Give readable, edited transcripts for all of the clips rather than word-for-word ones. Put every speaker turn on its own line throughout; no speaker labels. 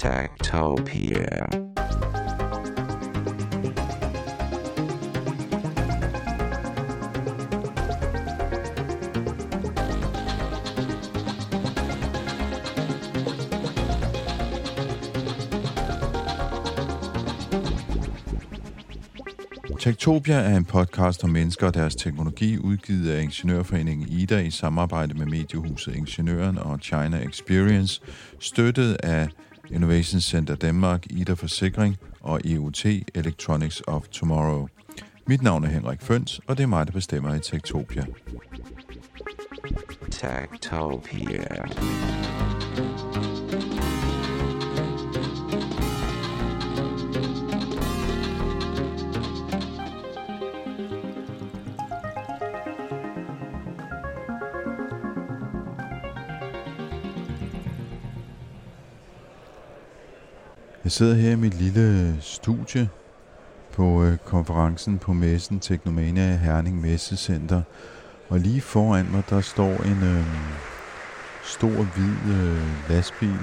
Techtopia.
Techtopia er en podcast om mennesker og deres teknologi, udgivet af Ingeniørforeningen IDA i samarbejde med mediehuset Ingeniøren og China Experience, støttet af Innovation Center Danmark, IDA Forsikring og EUT Electronics of Tomorrow. Mit navn er Henrik Føns, og det er mig, der bestemmer i Techtopia.
Techtopia.
Jeg sidder her i mit lille studie på konferencen på messen Technomania i Herning Messecenter. Og lige foran mig, der står en stor hvid lastbil,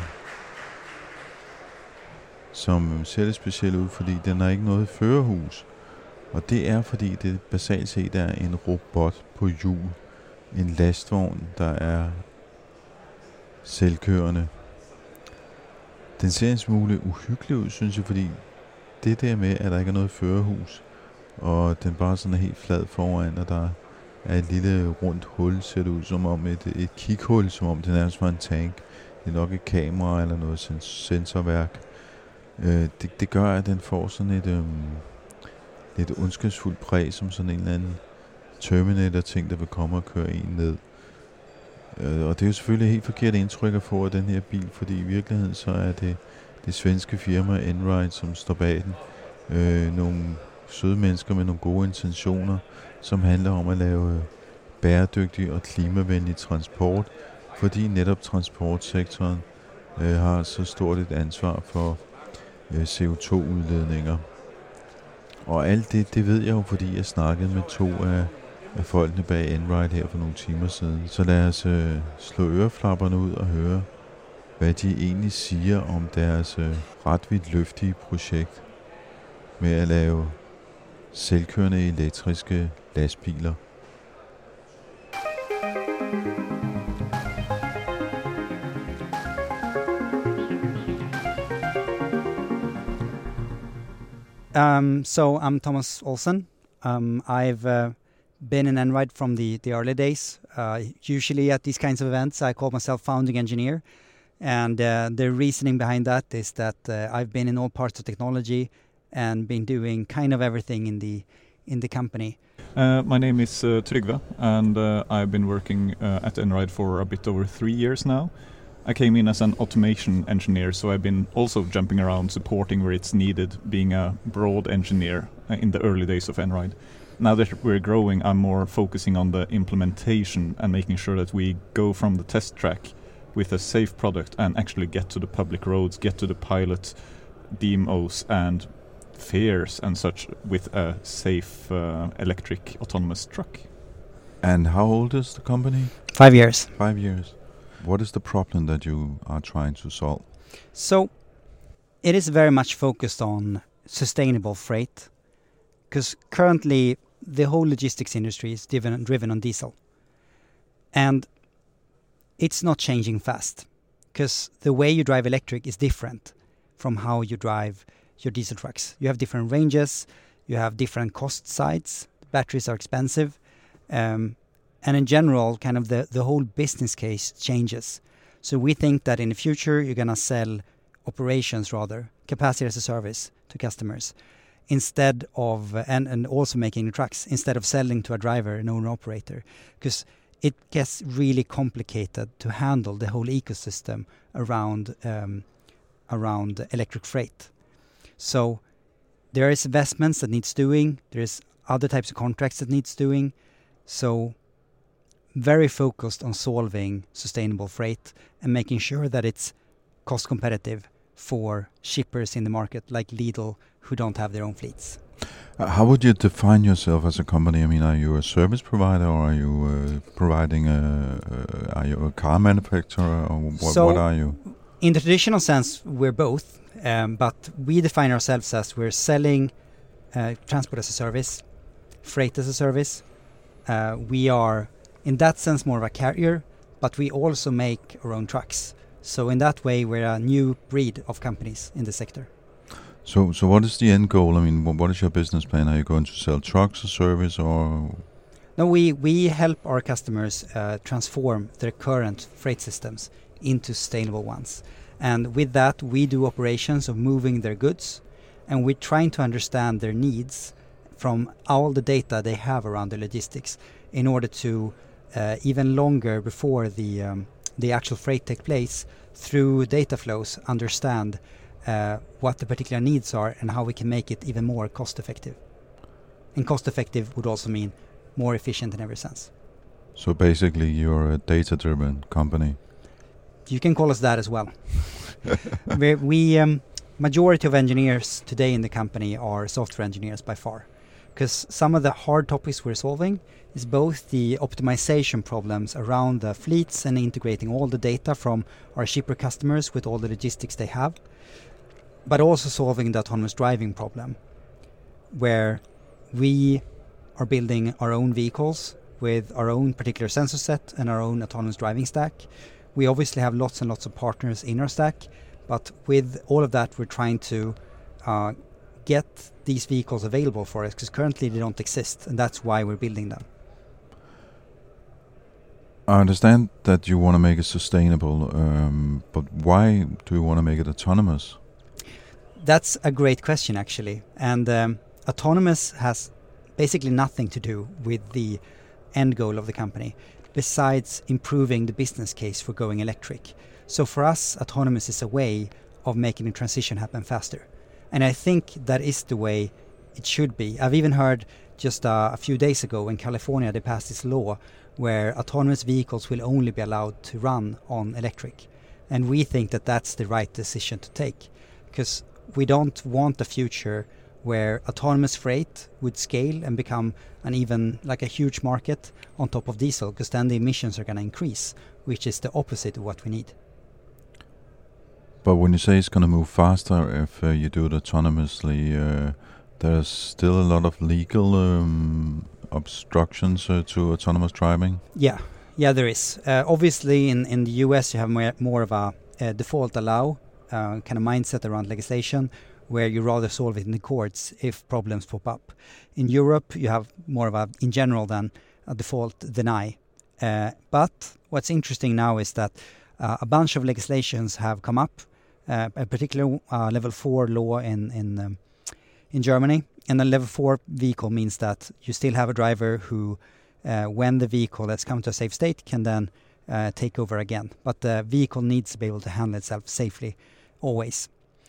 som ser lidt specielt ud, fordi den har ikke noget førerhus. Og det er, fordi det basalt set er en robot på hjul. En lastvogn, der er selvkørende. Den ser en smule uhyggelig ud, synes jeg, fordi det der med, at der ikke er noget førerhus, og den bare sådan er helt flad foran, og der er et lille rundt hul, ser det ud som om et kighul, som om det nærmest var en tank. Det er nok et kamera eller noget sensorværk. Det gør, at den får sådan et lidt ondskabsfuldt præg, som sådan en eller anden Terminator-ting, der vil komme og køre en ned. Og det er jo selvfølgelig et helt forkert indtryk at få af den her bil, fordi i virkeligheden så er det svenske firma Einride, som står bag den. Nogle søde mennesker med nogle gode intentioner, som handler om at lave bæredygtig og klimavenlig transport, fordi netop transportsektoren har så stort et ansvar for CO2-udledninger. Og alt det ved jeg jo, fordi jeg snakkede med to af folkene bag Einride her for nogle timer siden. Så lad os slå øreflapperne ud og høre, hvad de egentlig siger om deres ret vidtløftige projekt med at lave selvkørende elektriske lastbiler.
So I'm Thomas Olsen. I've been in Einride from the early days. Usually at these kinds of events, I call myself founding engineer. And the reasoning behind that is that I've been in all parts of technology and been doing kind of everything in the company.
My name is Trygve, and I've been working at Einride for a bit over 3 years now. I came in as an automation engineer, so I've been also jumping around supporting where it's needed, being a broad engineer in the early days of Einride. Now that we're growing, I'm more focusing on the implementation and making sure that we go from the test track with a safe product and actually get to the public roads, get to the pilot demos and fairs and such with a safe electric autonomous truck.
And how old is the company?
5 years.
5 years. What is the problem that you are trying to solve?
So it is very much focused on sustainable freight, because currently the whole logistics industry is driven on diesel. And it's not changing fast, because the way you drive electric is different from how you drive your diesel trucks. You have different ranges, you have different cost sides, batteries are expensive, and in general, kind of the whole business case changes. So we think that in the future, you're going to sell operations rather, capacity as a service to customers, instead of, and also making the trucks, instead of selling to a driver, an owner-operator. Because it gets really complicated to handle the whole ecosystem around electric freight. So there is investments that needs doing, there's other types of contracts that needs doing. So very focused on solving sustainable freight and making sure that it's cost competitive for shippers in the market like Lidl who don't have their own fleets.
How would you define yourself as a company? I mean, are you a service provider, or are you providing are you a car manufacturer, or what are you?
In the traditional sense, we're both, but we define ourselves as we're selling transport as a service, freight as a service. We are, in that sense, more of a carrier, but we also make our own trucks. So in that way, we're a new breed of companies in the sector.
So what is the end goal? I mean, what is your business plan? Are you going to sell trucks or service or?
No, we help our customers transform their current freight systems into sustainable ones. And with that, we do operations of moving their goods, and we're trying to understand their needs from all the data they have around the logistics in order to even longer before the actual freight take place, through data flows, understand what the particular needs are and how we can make it even more cost effective. And cost effective would also mean more efficient in every sense.
So basically you're a data-driven company.
You can call us that as well. we majority of engineers today in the company are software engineers by far, because some of the hard topics we're solving is both the optimization problems around the fleets and integrating all the data from our shipper customers with all the logistics they have, but also solving the autonomous driving problem, where we are building our own vehicles with our own particular sensor set and our own autonomous driving stack. We obviously have lots and lots of partners in our stack, but with all of that we're trying to get these vehicles available for us, because currently they don't exist, and that's why we're building them.
I understand that you want to make it sustainable, but why do you want to make it autonomous?
That's a great question, actually. And autonomous has basically nothing to do with the end goal of the company, besides improving the business case for going electric. So for us, autonomous is a way of making the transition happen faster. And I think that is the way it should be. I've even heard just a few days ago in California they passed this law where autonomous vehicles will only be allowed to run on electric. And we think that that's the right decision to take, because we don't want a future where autonomous freight would scale and become an even like a huge market on top of diesel, because then the emissions are going to increase, which is the opposite of what we need.
But when you say it's going to move faster if you do it autonomously, there's still a lot of legal obstructions to autonomous driving?
Yeah, there is. Obviously, in the US, you have more of a default allow kind of mindset around legislation, where you rather solve it in the courts if problems pop up. In Europe, you have more of a, in general, than a default deny. But what's interesting now is that a bunch of legislations have come up, a particular level 4 law in Germany. And a level 4 vehicle means that you still have a driver who, when the vehicle has come to a safe state, can then take over again. But the vehicle needs to be able to handle itself safely, always.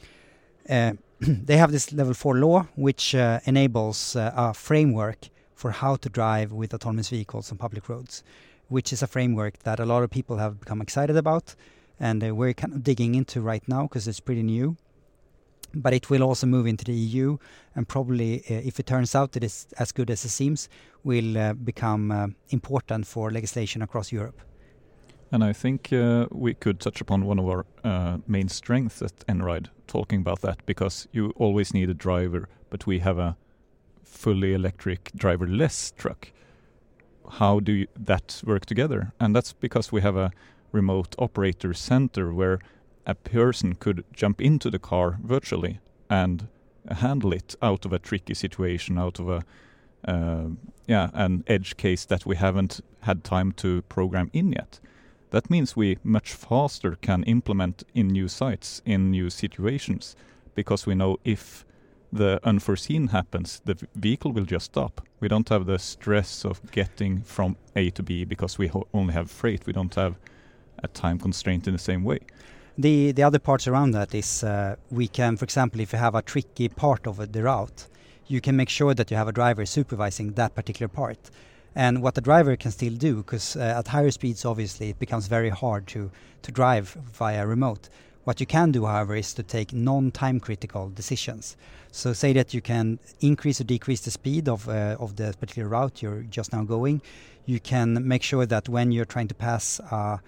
They have this level 4 law, which enables a framework for how to drive with autonomous vehicles on public roads, which is a framework that a lot of people have become excited about, and we're kind of digging into right now because it's pretty new. But it will also move into the EU, and probably, if it turns out that it's as good as it seems, will become important for legislation across Europe.
And I think we could touch upon one of our main strengths at Einride, talking about that, because you always need a driver, but we have a fully electric driverless truck. How do that work together? And that's because we have a remote operator center where a person could jump into the car virtually and handle it out of a tricky situation, out of a an edge case that we haven't had time to program in yet. That means we much faster can implement in new sites, in new situations, because we know if the unforeseen happens, the vehicle will just stop. We don't have the stress of getting from A to B because we only have freight. We don't have a time constraint in the same way.
The other parts around that is we can, for example, if you have a tricky part of the route, you can make sure that you have a driver supervising that particular part. And what the driver can still do, because at higher speeds, obviously, it becomes very hard to drive via remote. What you can do, however, is to take non-time critical decisions. So say that you can increase or decrease the speed of the particular route you're just now going. You can make sure that when you're trying to pass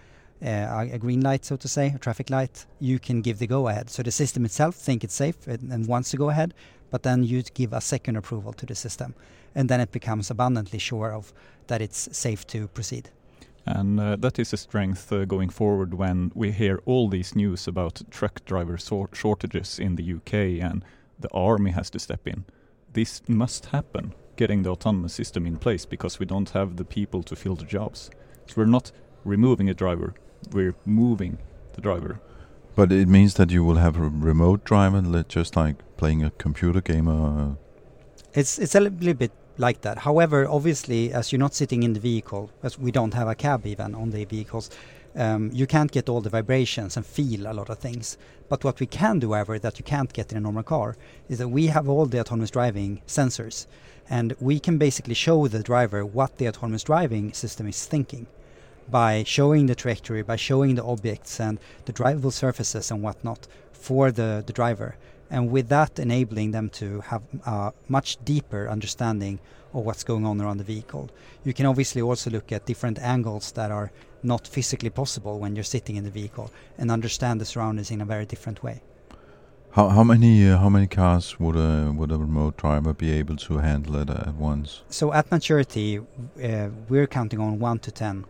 a green light, so to say, a traffic light, you can give the go-ahead. So the system itself think it's safe and wants to go ahead, but then you give a second approval to the system. And then it becomes abundantly sure of that it's safe to proceed.
And that is a strength going forward when we hear all these news about truck driver shortages in the UK and the army has to step in. This must happen, getting the autonomous system in place, because we don't have the people to fill the jobs. So we're not removing a driver, we're moving the driver.
But it means that you will have a remote driver, just like playing a computer game or...
It's a little bit like that. However, obviously, as you're not sitting in the vehicle, as we don't have a cab even on the vehicles, you can't get all the vibrations and feel a lot of things. But what we can do, however, that you can't get in a normal car, is that we have all the autonomous driving sensors. And we can basically show the driver what the autonomous driving system is thinking by showing the trajectory, by showing the objects and the drivable surfaces and whatnot for the driver. And with that, enabling them to have a much deeper understanding of what's going on around the vehicle. You can obviously also look at different angles that are not physically possible when you're sitting in the vehicle and understand the surroundings in a very different way.
How many cars would a remote driver be able to handle it at once?
So at maturity, we're counting on 1 to 10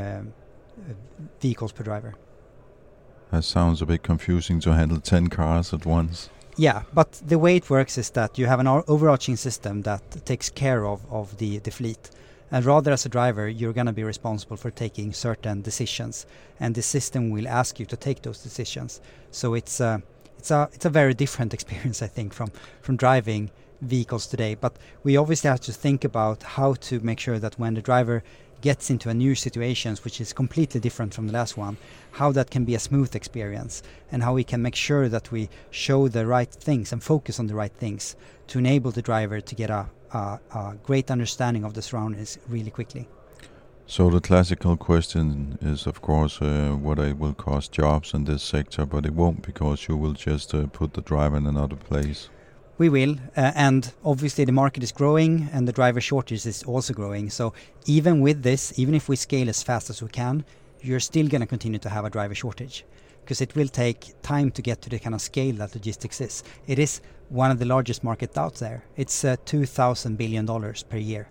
vehicles per driver.
That sounds a bit confusing to handle 10 cars at once.
Yeah, but the way it works is that you have an overarching system that takes care of the fleet. And rather, as a driver, you're going to be responsible for taking certain decisions. And the system will ask you to take those decisions. So it's a very different experience, I think, from driving vehicles today. But we obviously have to think about how to make sure that when the driver gets into a new situation, which is completely different from the last one, how that can be a smooth experience and how we can make sure that we show the right things and focus on the right things to enable the driver to get a great understanding of the surroundings really quickly.
So the classical question is, of course, whether it will cost jobs in this sector, but it won't, because you will just put the driver in another place.
We will, and obviously the market is growing and the driver shortage is also growing. So even with this, even if we scale as fast as we can, you're still going to continue to have a driver shortage, because it will take time to get to the kind of scale that logistics is. It is one of the largest markets out there. It's $2,000 billion per year.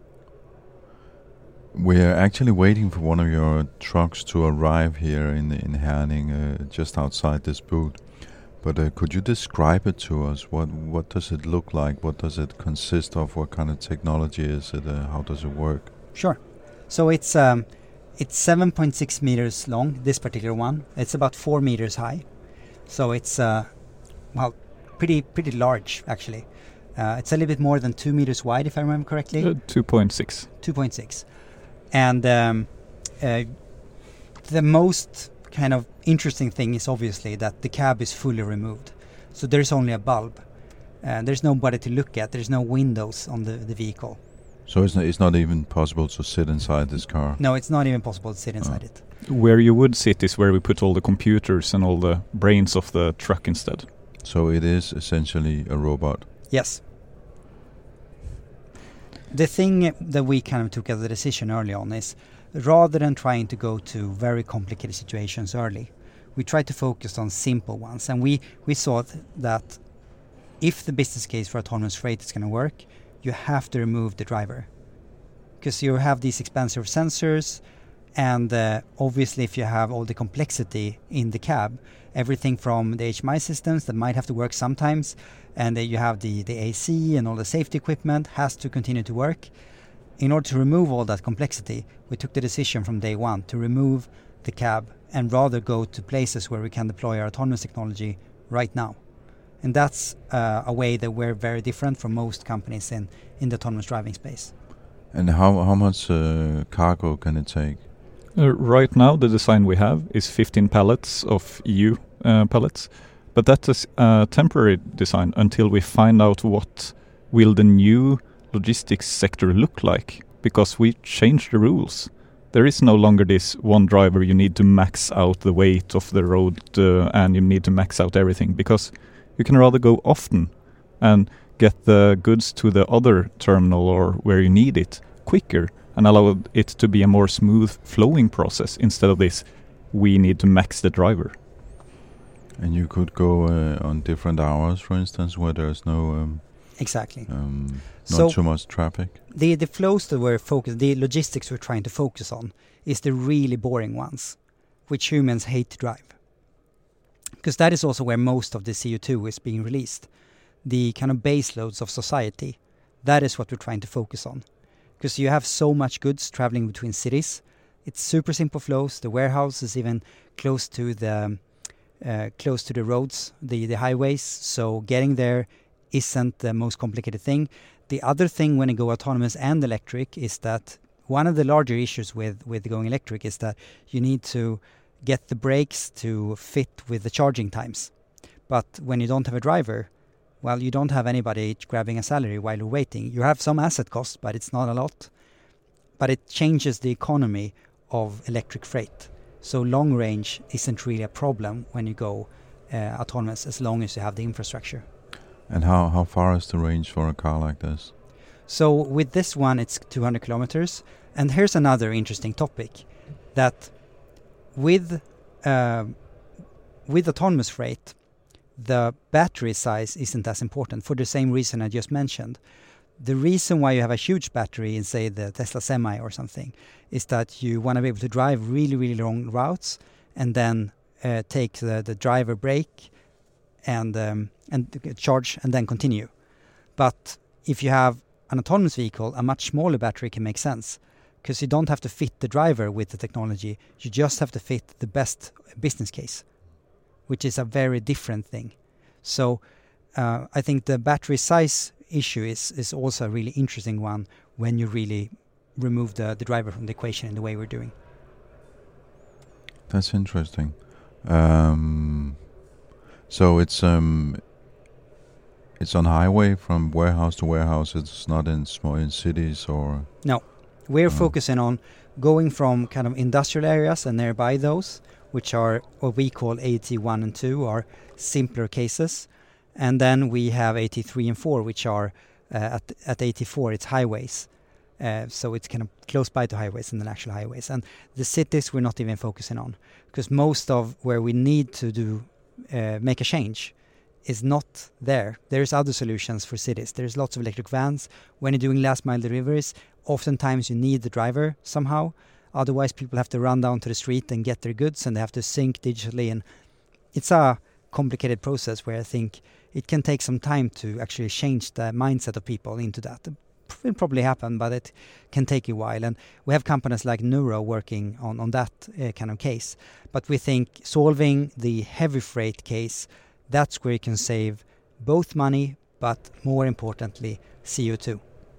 We're actually waiting for one of your trucks to arrive here in Herning, just outside this booth. But could you describe it to us? What does it look like? What does it consist of? What kind of technology is it? How does it work?
Sure. So it's 7.6 meters long, this particular one. It's about 4 meters high. So it's pretty large, actually. It's a little bit more than 2 meters wide, if I remember correctly.
2.6.
2.6. And the most kind of interesting thing is obviously that the cab is fully removed. So there's only a bulb. There's nobody to look at. There's no windows on the vehicle.
So it's not even possible to sit inside this car?
No, it's not even possible to sit inside it.
Where you would sit is where we put all the computers and all the brains of the truck instead.
So it is essentially a robot?
Yes. The thing that we kind of took as a decision early on is, rather than trying to go to very complicated situations early, we tried to focus on simple ones. And we saw that if the business case for autonomous freight is going to work, you have to remove the driver. Because you have these expensive sensors, and obviously if you have all the complexity in the cab, everything from the HMI systems that might have to work sometimes, and you have the AC and all the safety equipment has to continue to work. In order to remove all that complexity, we took the decision from day one to remove the cab and rather go to places where we can deploy our autonomous technology right now. And that's a way that we're very different from most companies in the autonomous driving space.
And how much cargo can it take?
Right now, the design we have is 15 pallets of EU pallets. But that is a temporary design until we find out what will the new logistics sector look like, because we changed the rules. There is no longer this one driver, you need to max out the weight of the road and you need to max out everything, because you can rather go often and get the goods to the other terminal or where you need it quicker and allow it to be a more smooth flowing process instead of this we need to max the driver.
And you could go on different hours, for instance, where there's no
Exactly.
not too much traffic.
The flows that we're focused, the logistics we're trying to focus on is the really boring ones, which humans hate to drive. Because that is also where most of the CO2 is being released. The kind of base loads of society, that is what we're trying to focus on. Because you have so much goods traveling between cities. It's super simple flows. The warehouse is even close to the roads, the highways. So getting there isn't the most complicated thing. The other thing when you go autonomous and electric is that one of the larger issues with going electric is that you need to get the brakes to fit with the charging times. But when you don't have a driver, well, you don't have anybody grabbing a salary while you're waiting. You have some asset costs, but it's not a lot. But it changes the economy of electric freight. So long range isn't really a problem when you go autonomous, as long as you have the infrastructure.
And how far is the range for a car like this?
So with this one, it's 200 kilometers. And here's another interesting topic, that with autonomous freight, the battery size isn't as important for the same reason I just mentioned. The reason why you have a huge battery in, say, the Tesla Semi or something is that you want to be able to drive really, really long routes and then take the driver break and charge and then continue. But if you have an autonomous vehicle, a much smaller battery can make sense, because you don't have to fit the driver with the technology. You just have to fit the best business case, which is a very different thing. So I think the battery size issue is also a really interesting one when you really remove the driver from the equation in the way we're doing.
That's interesting. So it's on highway from warehouse to warehouse. It's not in cities or...
No, we're focusing on going from kind of industrial areas and nearby those, which are what we call AT1 and 2, are simpler cases. And then we have AT3 and 4, which are at AT4, it's highways. So it's kind of close by to highways and then actual highways. And the cities we're not even focusing on, because most of where we need to make a change is not there. There's other solutions for cities. There's lots of electric vans. When you're doing last mile deliveries, oftentimes you need the driver somehow. Otherwise, people have to run down to the street and get their goods, and they have to sync digitally. And it's a complicated process where I think it can take some time to actually change the mindset of people into that. It will probably happen, but it can take a while. And we have companies like Nuro working on that kind of case. But we think solving the heavy freight case, that's where you can save both money, but more importantly, CO2.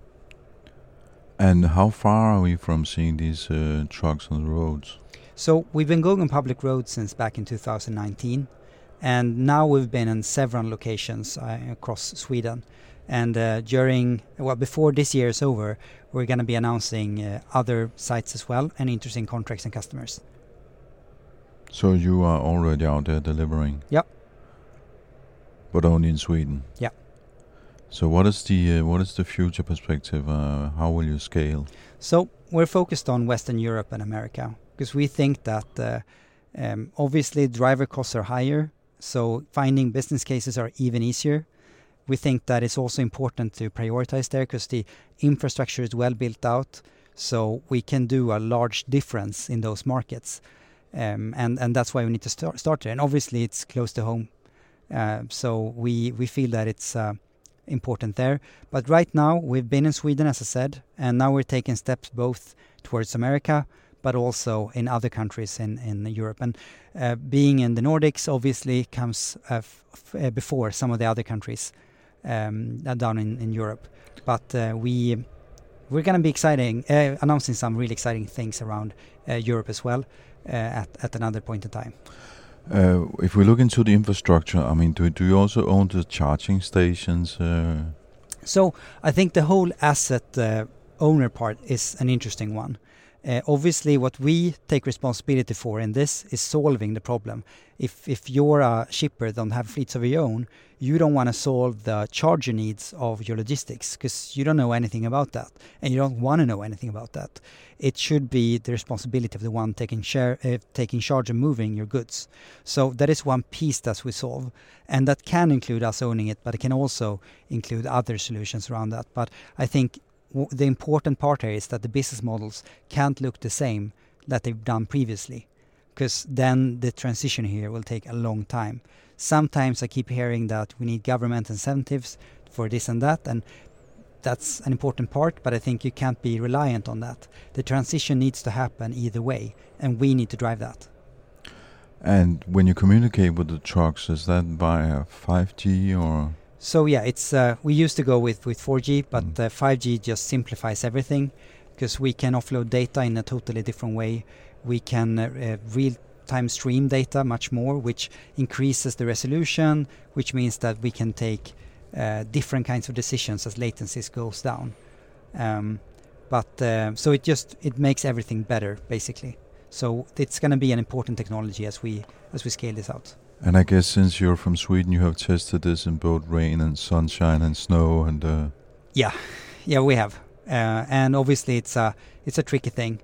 And how far are we from seeing these trucks on the roads?
So we've been going on public roads since back in 2019. And now we've been in several locations across Sweden. And before this year is over, we're going to be announcing other sites as well, and interesting contracts and customers.
So you are already out there delivering?
Yep.
But only in Sweden?
Yeah.
So what is the future perspective? How will you scale?
So we're focused on Western Europe and America, because we think that obviously driver costs are higher, so finding business cases are even easier. We think that it's also important to prioritize there because the infrastructure is well built out, so we can do a large difference in those markets. And that's why we need to start there. And obviously it's close to home. So we feel that it's important there. But right now we've been in Sweden, as I said, and now we're taking steps both towards America, but also in other countries in Europe. And being in the Nordics obviously comes before some of the other countries down in Europe. But we're going to be announcing some really exciting things around Europe as well at another point in time.
If we look into the infrastructure, I mean, do you also own the charging stations?
So I think the whole asset owner part is an interesting one. Obviously, what we take responsibility for in this is solving the problem. If you're a shipper, don't have fleets of your own, you don't want to solve the charger needs of your logistics because you don't know anything about that, and you don't want to know anything about that. It should be the responsibility of the one taking charge of moving your goods. So that is one piece that we solve, and that can include us owning it, but it can also include other solutions around that. But I think the important part here is that the business models can't look the same that they've done previously, because then the transition here will take a long time. Sometimes I keep hearing that we need government incentives for this and that, and that's an important part, but I think you can't be reliant on that. The transition needs to happen either way, and we need to drive that.
And when you communicate with the trucks, is that via 5G or?
So yeah, it's we used to go with 4G, but 5G just simplifies everything because we can offload data in a totally different way. We can real-time stream data much more, which increases the resolution, which means that we can take different kinds of decisions as latencies goes down. So it makes everything better, basically. So it's going to be an important technology as we scale this out.
And I guess since you're from Sweden, you have tested this in both rain and sunshine and snow and.
Yeah, we have, and obviously it's a tricky thing.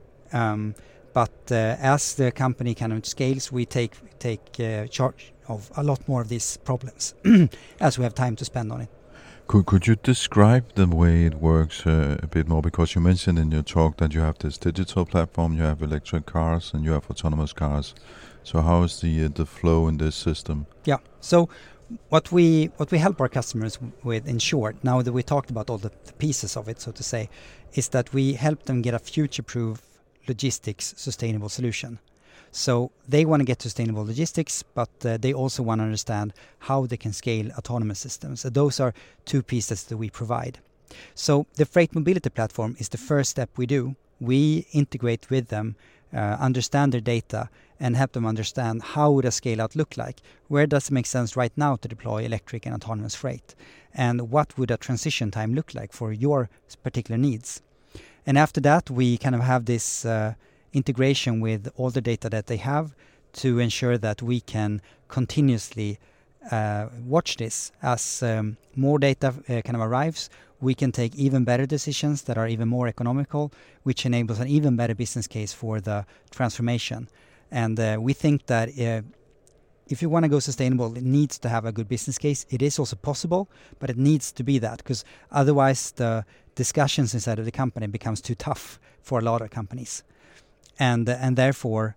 But as the company kind of scales, we take charge of a lot more of these problems as we have time to spend on it.
Could you describe the way it works a bit more? Because you mentioned in your talk that you have this digital platform, you have electric cars, and you have autonomous cars. So how is the flow in this system?
Yeah. So what we help our customers with, in short, now that we talked about all the pieces of it, so to say, is that we help them get a future-proof logistics sustainable solution. So they want to get sustainable logistics, but they also want to understand how they can scale autonomous systems. So those are two pieces that we provide. So the freight mobility platform is the first step we do. We integrate with them, understand their data, and help them understand how would a scale out look like. Where does it make sense right now to deploy electric and autonomous freight? And what would a transition time look like for your particular needs? And after that, we kind of have this integration with all the data that they have to ensure that we can continuously watch this. As more data kind of arrives, we can take even better decisions that are even more economical, which enables an even better business case for the transformation. And we think that if you want to go sustainable, it needs to have a good business case. It is also possible, but it needs to be that, because otherwise the discussions inside of the company becomes too tough for a lot of companies. And therefore,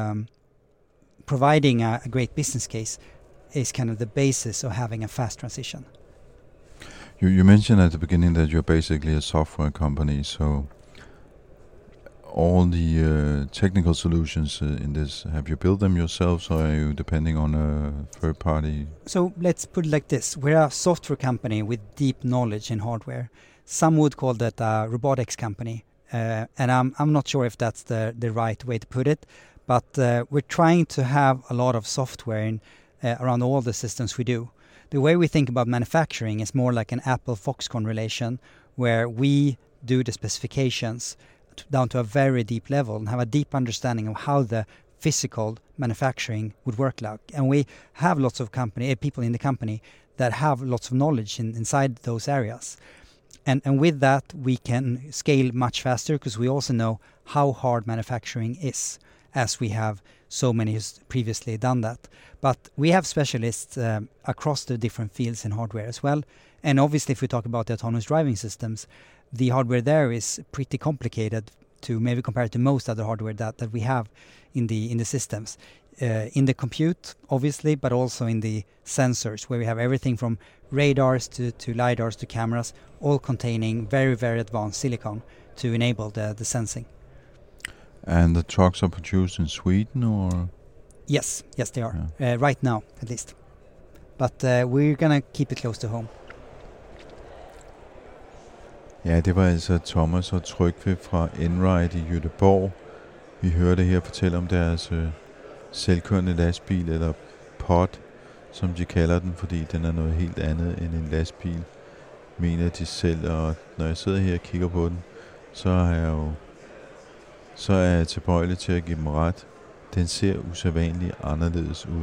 providing a great business case is kind of the basis of having a fast transition.
You mentioned at the beginning that you're basically a software company, so all the technical solutions in this, have you built them yourselves, or are you depending on a third party?
So let's put it like this. We're a software company with deep knowledge in hardware. Some would call that a robotics company. And I'm not sure if that's the right way to put it, but we're trying to have a lot of software around all the systems we do. The way we think about manufacturing is more like an Apple-Foxconn relation, where we do the specifications down to a very deep level and have a deep understanding of how the physical manufacturing would work like. And we have lots of people in the company that have lots of knowledge inside those areas. And with that, we can scale much faster because we also know how hard manufacturing is, as we have so many who's previously done that. But we have specialists across the different fields in hardware as well. And obviously, if we talk about the autonomous driving systems, the hardware there is pretty complicated to maybe compare to most other hardware that we have in the systems. In the compute, obviously, but also in the sensors, where we have everything from radars to LiDARs to cameras, all containing very, very advanced silicon to enable the sensing.
And the trucks are produced in Sweden, or?
Yes, they are. Yeah. Right now, at least. But we're going to keep it close to home.
Ja, det var altså Thomas og Trygve fra Einride i Göteborg. Vi hørte her fortælle om deres selvkørende lastbil, eller pod, som de kalder den, fordi den er noget helt andet end en lastbil, mener de selv. Og når jeg sidder her og kigger på den, så har jeg jo så er jeg tilbøjelig til at give dem ret. Den ser usædvanligt anderledes ud.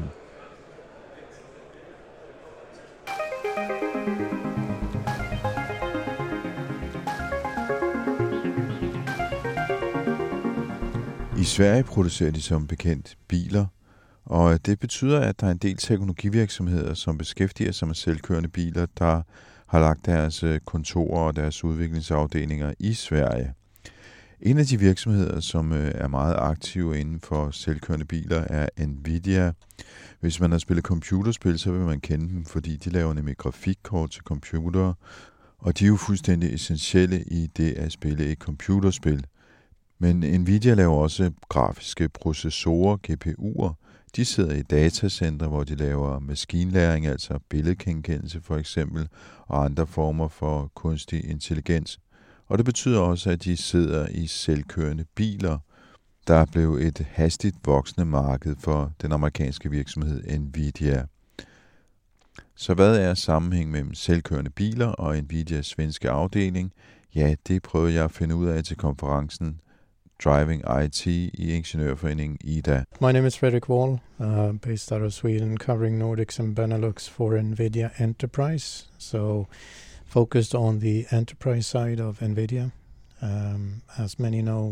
I Sverige producerer de som bekendt biler, og det betyder, at der er en del teknologivirksomheder, som beskæftiger sig med selvkørende biler, der har lagt deres kontorer og deres udviklingsafdelinger i Sverige. En af de virksomheder, som er meget aktive inden for selvkørende biler, er Nvidia. Hvis man har spillet computerspil, så vil man kende dem, fordi de laver nemlig grafikkort til computere, og de er jo fuldstændig essentielle i det at spille et computerspil. Men Nvidia laver også grafiske processorer, GPU'er. De sidder i datacenter, hvor de laver maskinlæring, altså billedgenkendelse for eksempel, og andre former for kunstig intelligens. Og det betyder også, at de sidder i selvkørende biler. Der er blevet et hastigt voksende marked for den amerikanske virksomhed Nvidia. Så hvad er sammenhængen mellem selvkørende biler og Nvidias svenske afdeling? Ja, det prøvede jeg at finde ud af til konferencen Driving IT i Ingeniørforeningen IDA.
My name is Fredrik Wall, based out of Sweden, covering Nordics and Benelux for Nvidia Enterprise. So focused on the enterprise side of Nvidia. As many know,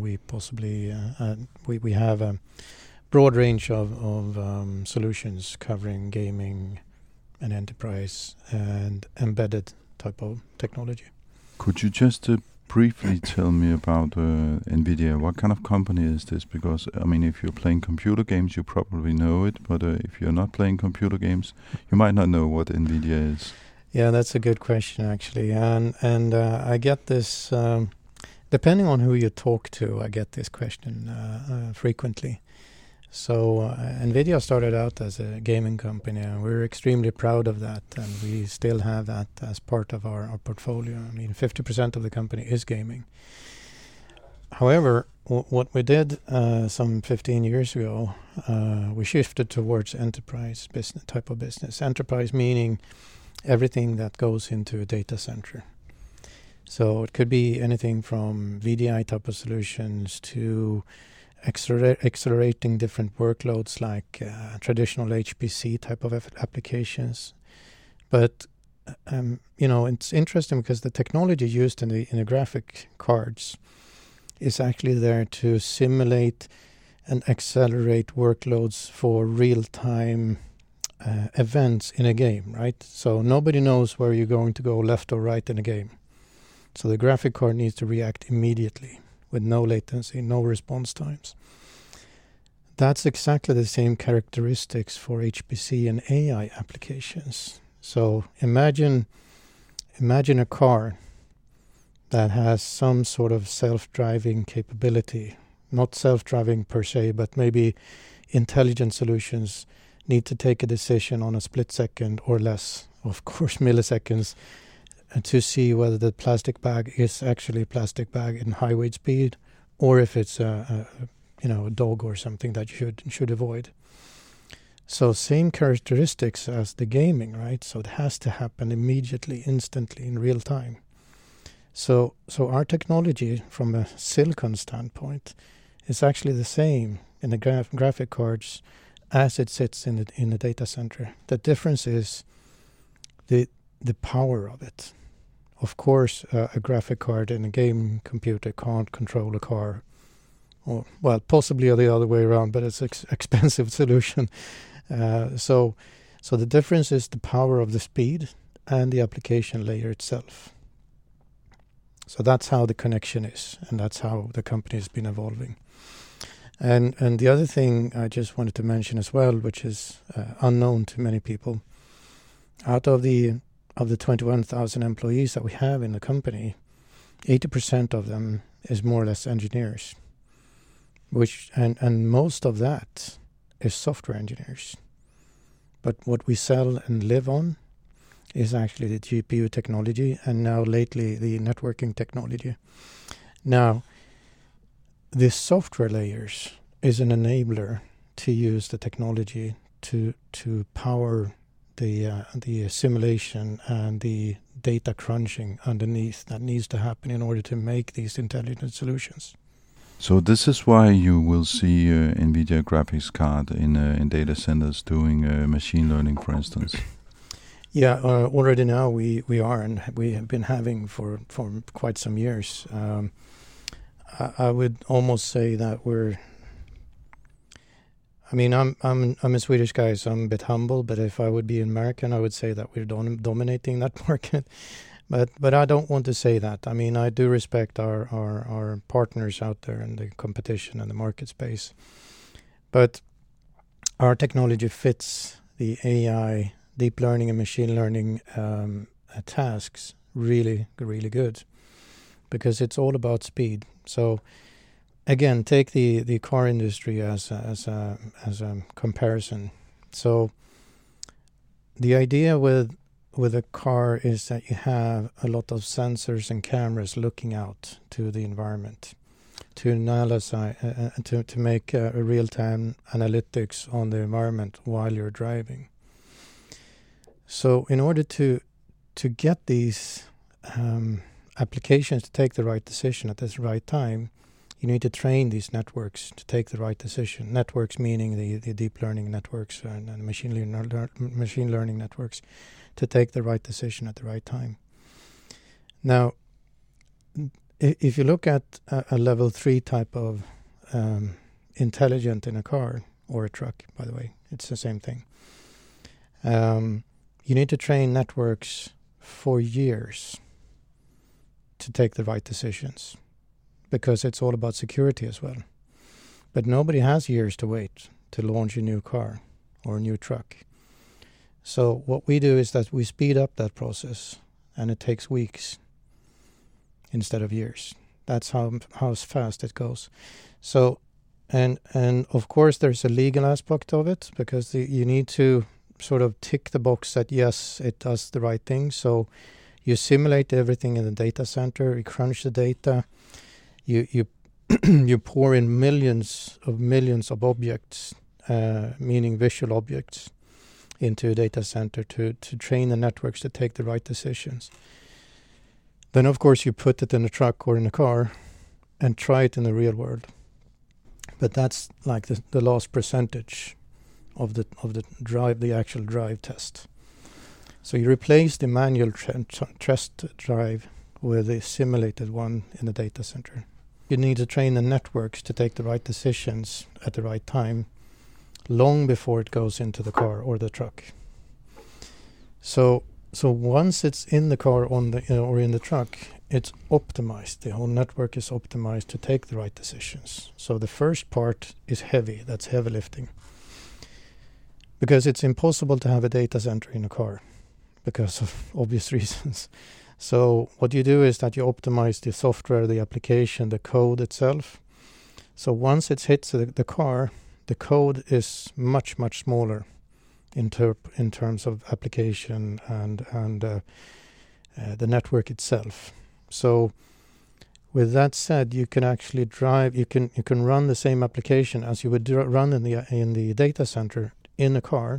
we have a broad range of solutions covering gaming and enterprise and embedded type of technology.
Could you just briefly tell me about Nvidia? What kind of company is this? Because, I mean, if you're playing computer games, you probably know it, but if you're not playing computer games, you might not know what Nvidia is.
Yeah, that's a good question, actually. And I get this, depending on who you talk to, I get this question frequently. So Nvidia started out as a gaming company, and we're extremely proud of that, and we still have that as part of our portfolio. I mean, 50% of the company is gaming. However, what we did some 15 years ago, we shifted towards enterprise business type of business. Enterprise meaning everything that goes into a data center. So it could be anything from VDI type of solutions to accelerating different workloads like traditional HPC type of applications. But it's interesting because the technology used in the graphic cards is actually there to simulate and accelerate workloads for real-time events in a game, right? So nobody knows where you're going to go left or right in a game. So the graphic card needs to react immediately with no latency, no response times. That's exactly the same characteristics for HPC and AI applications. So imagine a car that has some sort of self-driving capability. Not self-driving per se, but maybe intelligent solutions need to take a decision on a split second or less, of course milliseconds, to see whether the plastic bag is actually a plastic bag in highway speed, or if it's a dog or something that you should avoid. So same characteristics as the gaming, right? So it has to happen immediately, instantly, in real time. So our technology, from a silicon standpoint, is actually the same in the graphic cards as it sits in the data center. The difference is the power of it. Of course, a graphic card in a game computer can't control a car, or possibly the other way around, but it's an expensive solution. So the difference is the power of the speed and the application layer itself. So that's how the connection is, and that's how the company has been evolving. And the other thing I just wanted to mention as well, which is unknown to many people, out of the 21,000 employees that we have in the company, 80% of them is more or less engineers, and most of that is software engineers. But what we sell and live on is actually the GPU technology, and now lately the networking technology. Now, the software layers is an enabler to use the technology to power the simulation and the data crunching underneath that needs to happen in order to make these intelligent solutions.
So this is why you will see NVIDIA graphics card in data centers doing machine learning, for instance.
Yeah, already now we are, and we have been having for quite some years. I would almost say that we're. I mean, I'm a Swedish guy, so I'm a bit humble. But if I would be American, I would say that we're dominating that market. But I don't want to say that. I mean, I do respect our partners out there in the competition and the market space. But our technology fits the AI, deep learning and machine learning tasks really, really good, because it's all about speed. So again, take the car industry as a comparison. So the idea with a car is that you have a lot of sensors and cameras looking out to the environment to analyze, to make a real-time analytics on the environment while you're driving. So in order to get these applications to take the right decision at the right time, you need to train these networks to take the right decision. Networks meaning the deep learning networks and machine learning networks to take the right decision at the right time. Now, if you look at a level 3 type of intelligent in a car or a truck, by the way, it's the same thing. You need to train networks for years to take the right decisions, because it's all about security as well. But nobody has years to wait to launch a new car or a new truck. So what we do is that we speed up that process, and it takes weeks instead of years. That's how fast it goes. So, and of course there's a legal aspect of it, because you need to sort of tick the box that yes, it does the right thing. So you simulate everything in the data center, you crunch the data, you you pour in millions of objects, meaning visual objects, into a data center to train the networks to take the right decisions. Then of course you put it in a truck or in a car and try it in the real world. But that's like the last percentage of the drive, the actual drive test. So you replace the manual test drive with a simulated one in the data center. You need to train the networks to take the right decisions at the right time, long before it goes into the car or the truck. So once it's in the car or in the truck, it's optimized. The whole network is optimized to take the right decisions. So the first part is heavy. That's heavy lifting. Because it's impossible to have a data center in a car because of obvious reasons. So what you do is that you optimize the software, the application, the code itself. So once it hits the car, the code is much, much smaller in terms of application and the network itself. So with that said, you can actually drive. You can run the same application as you would run in the data center in a car,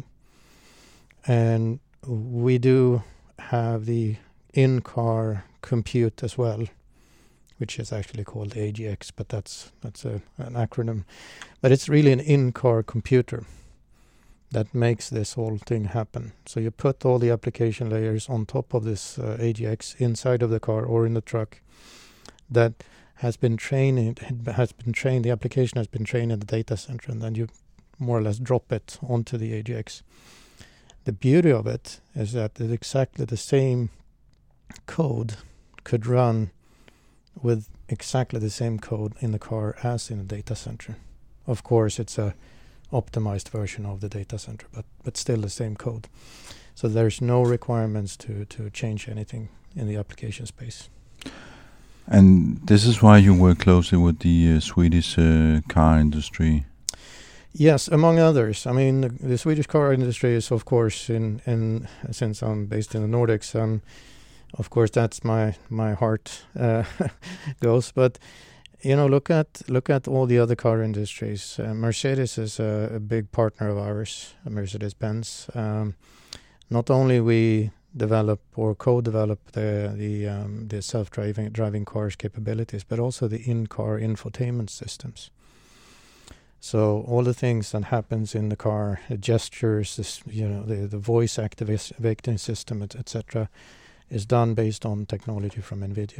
and we do have the in-car compute as well, which is actually called AGX, but that's an acronym. But it's really an in-car computer that makes this whole thing happen. So you put all the application layers on top of this AGX inside of the car or in the truck that has been trained. The application has been trained in the data center, and then you more or less drop it onto the AGX. The beauty of it is that it's exactly the same code could run with exactly the same code in the car as in the data center. Of course, it's a optimized version of the data center, but still the same code. So there's no requirements to change anything in the application space.
And this is why you work closely with the Swedish car industry.
Yes, among others. I mean, the Swedish car industry is, of course, in since I'm based in the Nordics, of course, that's my heart goes. But look at all the other car industries. Mercedes is a big partner of ours, Mercedes-Benz. Not only we develop or co-develop the self-driving cars capabilities, but also the in-car infotainment systems. So all the things that happens in the car, the gestures, the voice activating system, etc., is done based on technology from NVIDIA.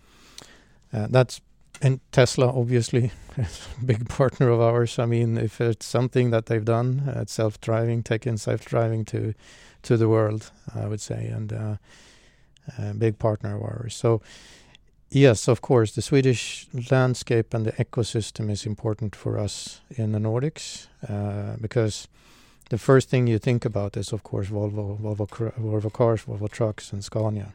And Tesla, obviously, is a big partner of ours. I mean, if it's something that they've done, it's self-driving, taking self-driving to the world, I would say, and a big partner of ours. So, yes, of course, the Swedish landscape and the ecosystem is important for us in the Nordics, because the first thing you think about is, of course, Volvo cars, Volvo trucks, and Scania.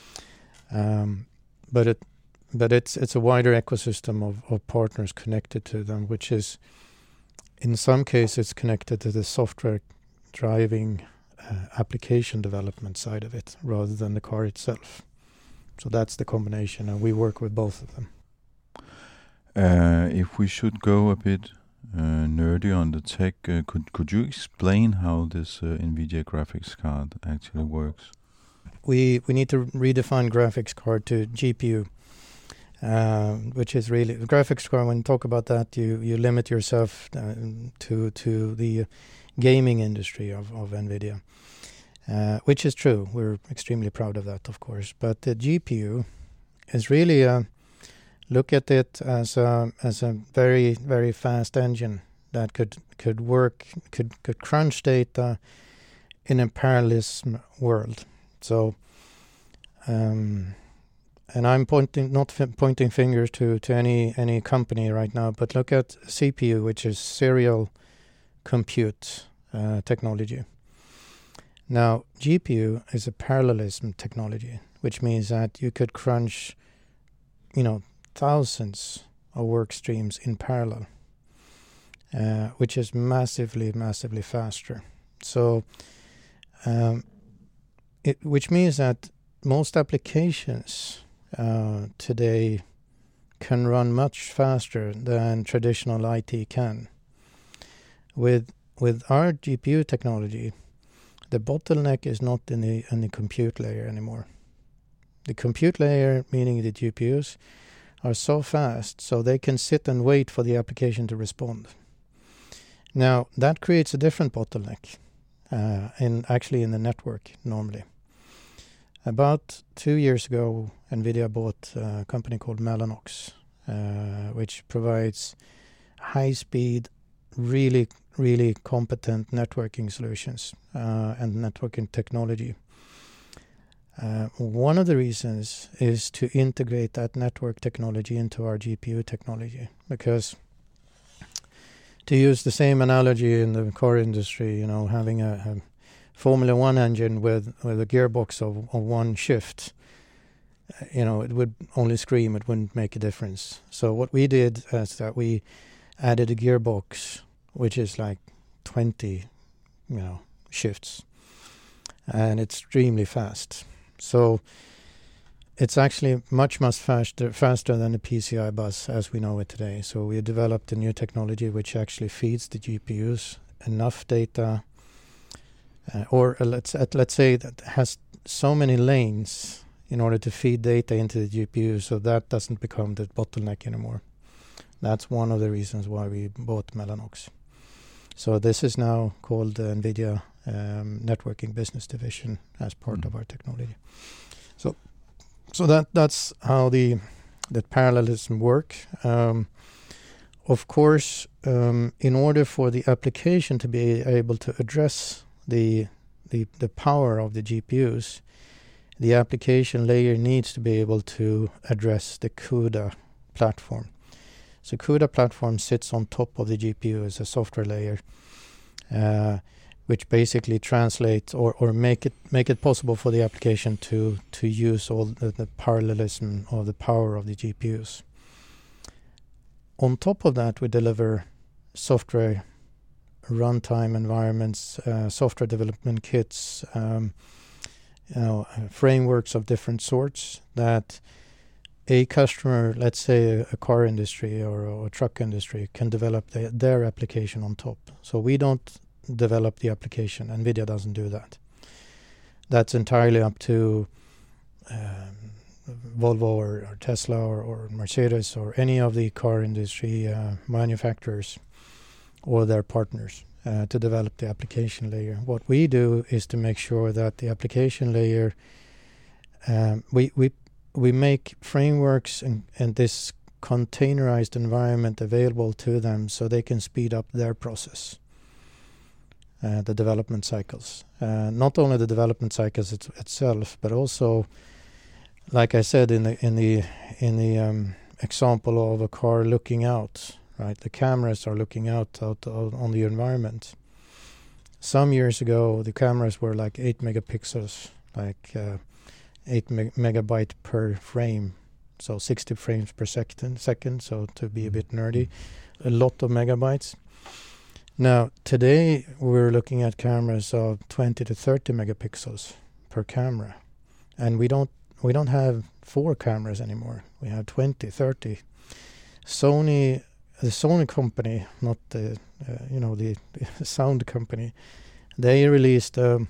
But it's a wider ecosystem of partners connected to them, which is, in some cases, connected to the software driving application development side of it, rather than the car itself. So that's the combination, and we work with both of them.
If we should go a bit nerdy on the tech, could you explain how this NVIDIA graphics card actually works?
We need to redefine graphics card to GPU. Which is really the graphics card. When you talk about that, you limit yourself to the gaming industry of NVIDIA, which is true. We're extremely proud of that, of course. But the GPU is really look at it as a very, very fast engine that could crunch data in a parallelism world. So. And I'm not pointing fingers to any company right now, but look at CPU, which is serial compute technology. Now, GPU is a parallelism technology, which means that you could crunch, thousands of work streams in parallel, which is massively, massively faster. So, which means that most applications today can run much faster than traditional IT can. With our GPU technology, the bottleneck is not in the compute layer anymore. The compute layer, meaning the GPUs, are so fast so they can sit and wait for the application to respond. Now, that creates a different bottleneck in the network normally. About 2 years ago, NVIDIA bought a company called Mellanox, which provides high-speed, really, really competent networking solutions and networking technology. One of the reasons is to integrate that network technology into our GPU technology, because to use the same analogy in the car industry, having a Formula One engine with a gearbox of one shift, it would only scream, it wouldn't make a difference. So what we did is that we added a gearbox, which is like 20, shifts, and it's extremely fast. So it's actually much faster than the PCI bus as we know it today. So we developed a new technology which actually feeds the GPUs enough data, or let's say that has so many lanes in order to feed data into the GPU, so that doesn't become the bottleneck anymore. That's one of the reasons why we bought Mellanox. So this is now called the NVIDIA Networking Business Division as part of our technology. So that's how the parallelism work. Of course, in order for the application to be able to address the power of the GPUs, the application layer needs to be able to address the CUDA platform. So CUDA platform sits on top of the GPU as a software layer, which basically translates or make it possible for the application to use all the parallelism or the power of the GPUs. On top of that, we deliver software runtime environments, software development kits, frameworks of different sorts that a customer, let's say a car industry or a truck industry, can develop their application on top. So we don't develop the application. NVIDIA doesn't do that. that's entirely up to Volvo or Tesla or Mercedes or any of the car industry manufacturers or their partners to develop the application layer. What we do is to make sure that the application layer, we make frameworks and this containerized environment available to them so they can speed up their process, the development cycles. Not only the development cycles itself, but also, like I said in the example of a car looking out, right? The cameras are looking out on the environment. Some years ago, the cameras were like 8 megapixels, like 8 megabyte per frame, so 60 frames per second. So to be a bit nerdy, a lot of megabytes. Now today we're looking at cameras of 20 to 30 megapixels per camera, and we don't have 4 cameras anymore. We have 20, 30. The Sony company, not the the sound company, they released a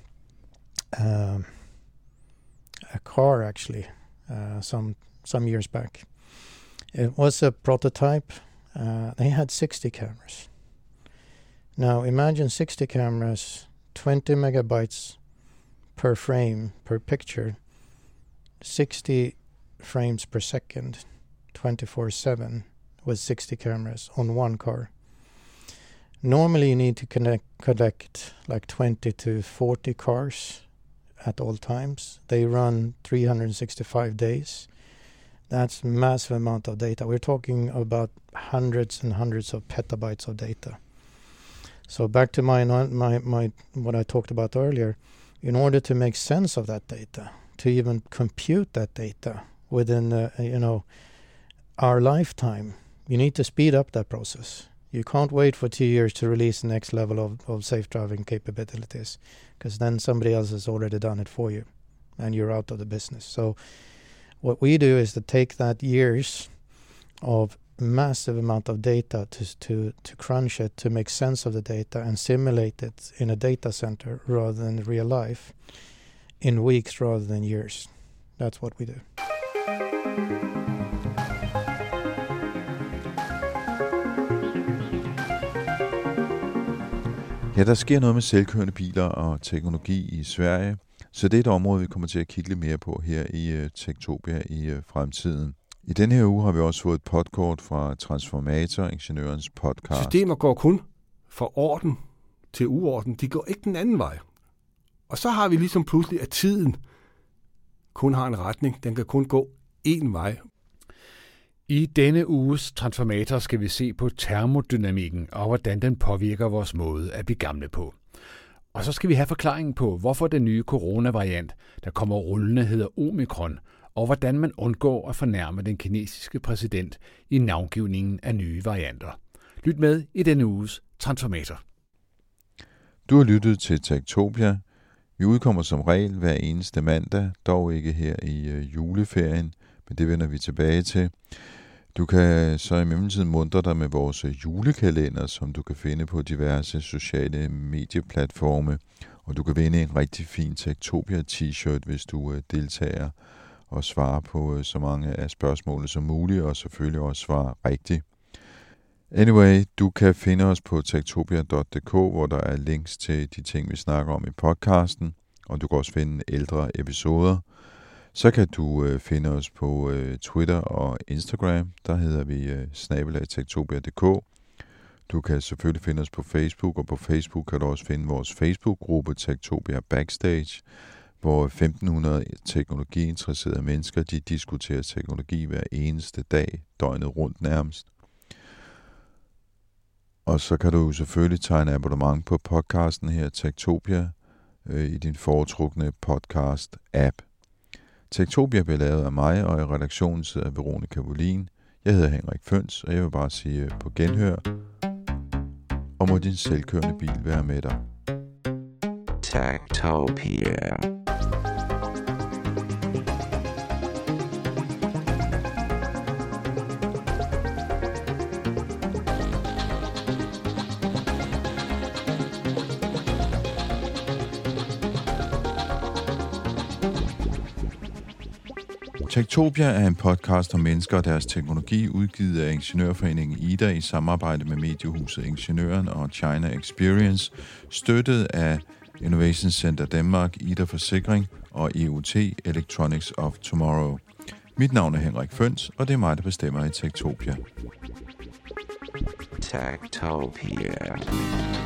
car actually some years back. It was a prototype. They had 60 cameras. Now imagine 60 cameras, 20 megabytes per frame per picture, 60 frames per second, 24/7 with 60 cameras on one car. Normally you need to connect like 20 to 40 cars at all times. They run 365 days. That's a massive amount of data. We're talking about hundreds and hundreds of petabytes of data. So back to my what I talked about earlier, in order to make sense of that data, to even compute that data within our lifetime, you need to speed up that process. You can't wait for 2 years to release the next level of safe driving capabilities, because then somebody else has already done it for you and you're out of the business. So what we do is to take that years of massive amount of data to crunch it, to make sense of the data and simulate it in a data center rather than real life, in weeks rather than years. That's what we do.
Ja, der sker noget med selvkørende biler og teknologi i Sverige, så det er et område, vi kommer til at kigge lidt mere på her i Techtopia i fremtiden. I denne her uge har vi også fået et podkort fra Transformator, ingeniørens podcast.
Systemer går kun fra orden til uorden. De går ikke den anden vej. Og så har vi ligesom pludselig, at tiden kun har en retning. Den kan kun gå én vej.
I denne uges Transformator skal vi se på termodynamikken og hvordan den påvirker vores måde at blive gamle på. Og så skal vi have forklaringen på, hvorfor den nye coronavariant, der kommer rullende, hedder Omikron, og hvordan man undgår at fornærme den kinesiske præsident i navngivningen af nye varianter. Lyt med i denne uges Transformator.
Du har lyttet til Techtopia. Vi udkommer som regel hver eneste mandag, dog ikke her i juleferien, men det vender vi tilbage til. Du kan så i mellemtiden muntre dig med vores julekalender, som du kan finde på diverse sociale medieplatforme, og du kan vinde en rigtig fin Techtopia t-shirt, hvis du deltager og svarer på så mange af spørgsmålene som muligt, og selvfølgelig også svarer rigtigt. Anyway, du kan finde os på techtopia.dk, hvor der er links til de ting, vi snakker om i podcasten, og du kan også finde ældre episoder. Så kan du finde os på Twitter og Instagram, der hedder vi @techtopia.dk. Du kan selvfølgelig finde os på Facebook, og på Facebook kan du også finde vores Facebook-gruppe Techtopia Backstage, hvor 1500 teknologiinteresserede mennesker, de diskuterer teknologi hver eneste dag, døgnet rundt nærmest. Og så kan du selvfølgelig tegne abonnement på podcasten her, Techtopia, i din foretrukne podcast-app. Techtopia bliver lavet af mig, og i redaktionen sidder Veronica Wåhlin. Jeg hedder Henrik Føns, og jeg vil bare sige på genhør, og må din selvkørende bil være med dig.
Techtopia.
Techtopia er en podcast om mennesker og deres teknologi, udgivet af Ingeniørforeningen IDA i samarbejde med mediehuset Ingeniøren og China Experience, støttet af Innovation Center Danmark, IDA Forsikring og EUT Electronics of Tomorrow. Mit navn er Henrik Føns, og det er mig, der bestemmer i Techtopia.
Techtopia.